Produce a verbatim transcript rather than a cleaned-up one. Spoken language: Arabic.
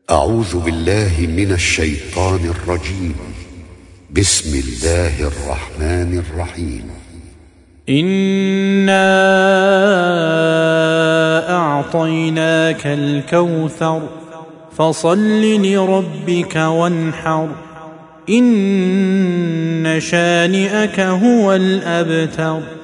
أعوذ بالله من الشيطان الرجيم. بسم الله الرحمن الرحيم. إنا أعطيناك الكوثر فصل لربك وانحر إن شانئك هو الأبتر.